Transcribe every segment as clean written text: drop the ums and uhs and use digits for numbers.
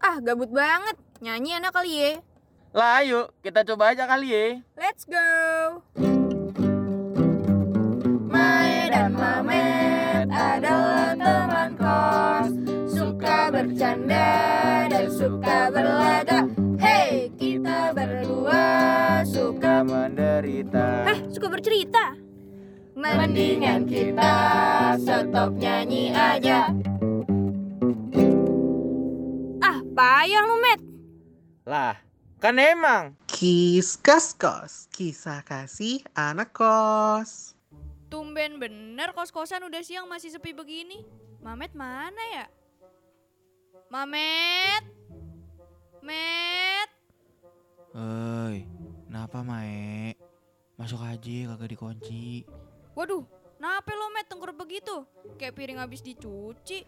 Ah, gabut banget. Nyanyi enak kali ya. Lah ayo, kita coba aja kali ya. Let's go. Mae dan Mamet adalah teman kos, suka bercanda dan suka berlaga. Hey, kita berdua suka menderita. suka bercerita. Mendingan kita stop nyanyi aja. Ah, payah lu, Met. Lah, kan emang. Kiskas kos, kisah kasih anak kos. Tumben bener kos-kosan udah siang masih sepi begini. Mamet mana ya? Mamet? Met? Hei, kenapa Mae? Masuk aja kagak dikunci. Waduh, kenapa lo Met tengkurap begitu? Kayak piring habis dicuci.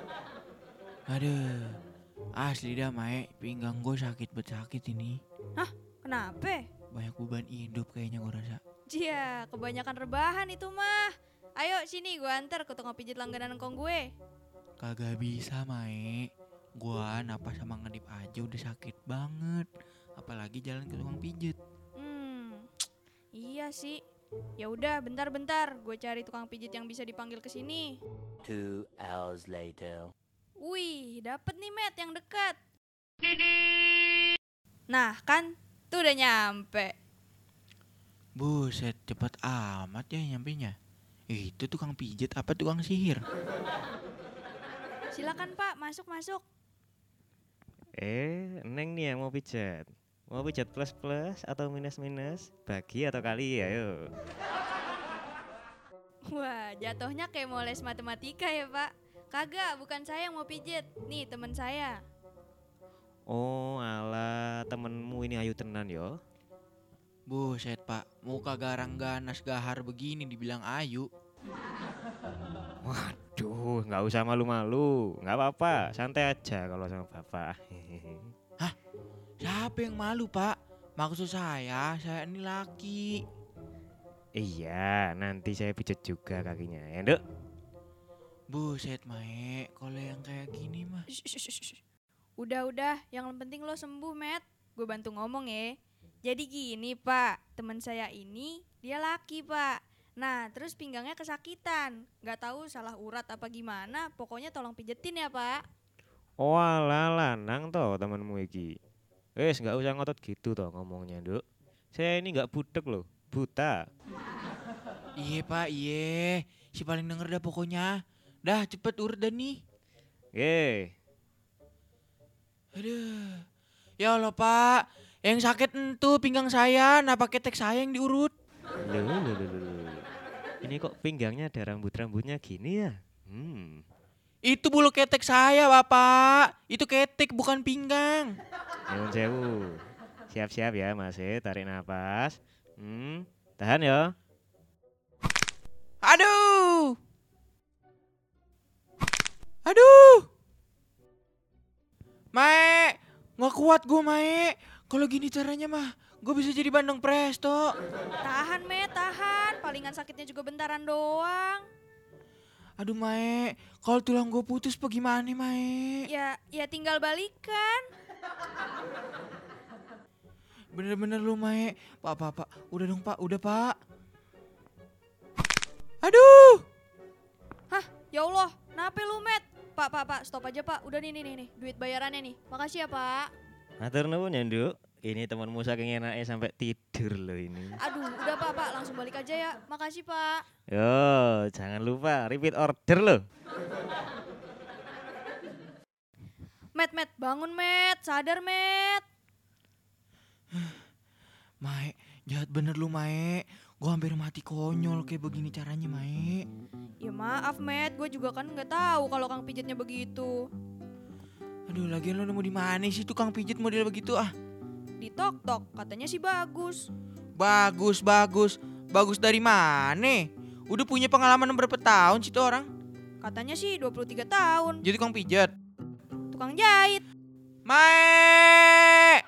Aduh, asli dah Mae, pinggang gue sakit ini. Hah, kenapa? Banyak beban hidup kayaknya gue rasa. Cia, kebanyakan rebahan itu mah. Ayo sini gue antar ke tukang pijit langganan kong gue. Kagak bisa Mae, gua napas sama ngedip aja udah sakit banget. Apalagi jalan ke tukang pijet. Iya sih. Ya udah, bentar-bentar. Gue cari tukang pijit yang bisa dipanggil ke sini. 2 hours later. Wih, dapet nih Met yang dekat. Nah kan, tuh udah nyampe. Buset, cepet amat ya nyampenya. Itu tukang pijet apa tukang sihir? Silakan Pak, masuk. Neng nih yang mau pijat. Mau pijat plus atau minus? Bagi atau kali, ayo. Wah, jatuhnya kayak mau les matematika ya Pak. Kagak, bukan saya yang mau pijit. Nih temen saya. Oh alah, temenmu ini ayu tenan yo. Buset Pak, muka garang ganas gahar begini dibilang ayu. Waduh, nggak usah malu-malu, nggak apa-apa, santai aja kalau sama bapak. Siapa yang malu Pak? Maksud saya ini laki. Iya, nanti saya pijat juga kakinya, ya Nduk. Buset Mae, kalau yang kayak gini mah. Udah, yang penting lo sembuh Met. Gue bantu ngomong ya. Jadi gini Pak, teman saya ini dia laki Pak. Nah terus pinggangnya kesakitan. Gak tahu salah urat apa gimana, pokoknya tolong pijetin ya Pak. Oh alah, lanang toh temenmu iki. Nggak usah ngotot gitu toh ngomongnya Nduk. Saya ini nggak budek loh, buta. Iya Pak, iya. Si paling denger dah pokoknya. Dah cepet urut dah nih. Aduh. Ya Allah Pak, yang sakit entu pinggang saya, nah pakai tek saya yang diurut. Loh. Ini kok pinggangnya ada rambut-rambutnya gini ya? Itu bulu ketek saya Bapak. Itu ketek bukan pinggang. Nyuwun sewu. Siap-siap ya Mas, tarik nafas. Tahan ya. Aduh. Mae, nggak kuat gue Mae. Kalau gini caranya mah, gue bisa jadi Bandung Presto. Tahan Met, tahan. Palingan sakitnya juga bentaran doang. Aduh Mae, kalau tulang gue putus apa gimana Mae? Ya tinggal balikan. Bener-bener lu Mae. Pak, udah dong Pak, udah Pak. Aduh. Hah, ya Allah, kenapa lu Met? Pak, stop aja Pak. Udah nih, duit bayarannya nih. Makasih ya Pak. Matur nuwun ya Nduk. Ini temanmu saking enaknya sampai tidur loh ini. Aduh, udah Pak, langsung balik aja ya. Makasih Pak. Yo, jangan lupa repeat order loh. Met, bangun Met. Sadar Met. Mae, jahat bener lu Mae. Gue hampir mati konyol kayak begini caranya Mae. Ya maaf Met, gue juga kan nggak tahu kalau kang pijitnya begitu. Aduh, lagian lu nemu di mana sih tukang pijit model begitu ah? Di Tok, katanya sih bagus. Bagus. Bagus dari mana? Udah punya pengalaman berapa tahun sih tuh orang? Katanya sih 23 tahun. Jadi tukang pijat. Tukang jahit. Mae!